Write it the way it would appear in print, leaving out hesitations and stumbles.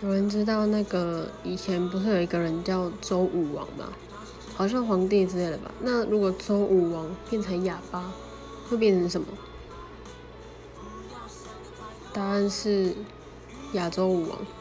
有人知道那个以前不是有一个人叫周武王吗？好像皇帝之类的吧。那如果周武王变成哑巴，会变成什么？答案是亚洲舞王。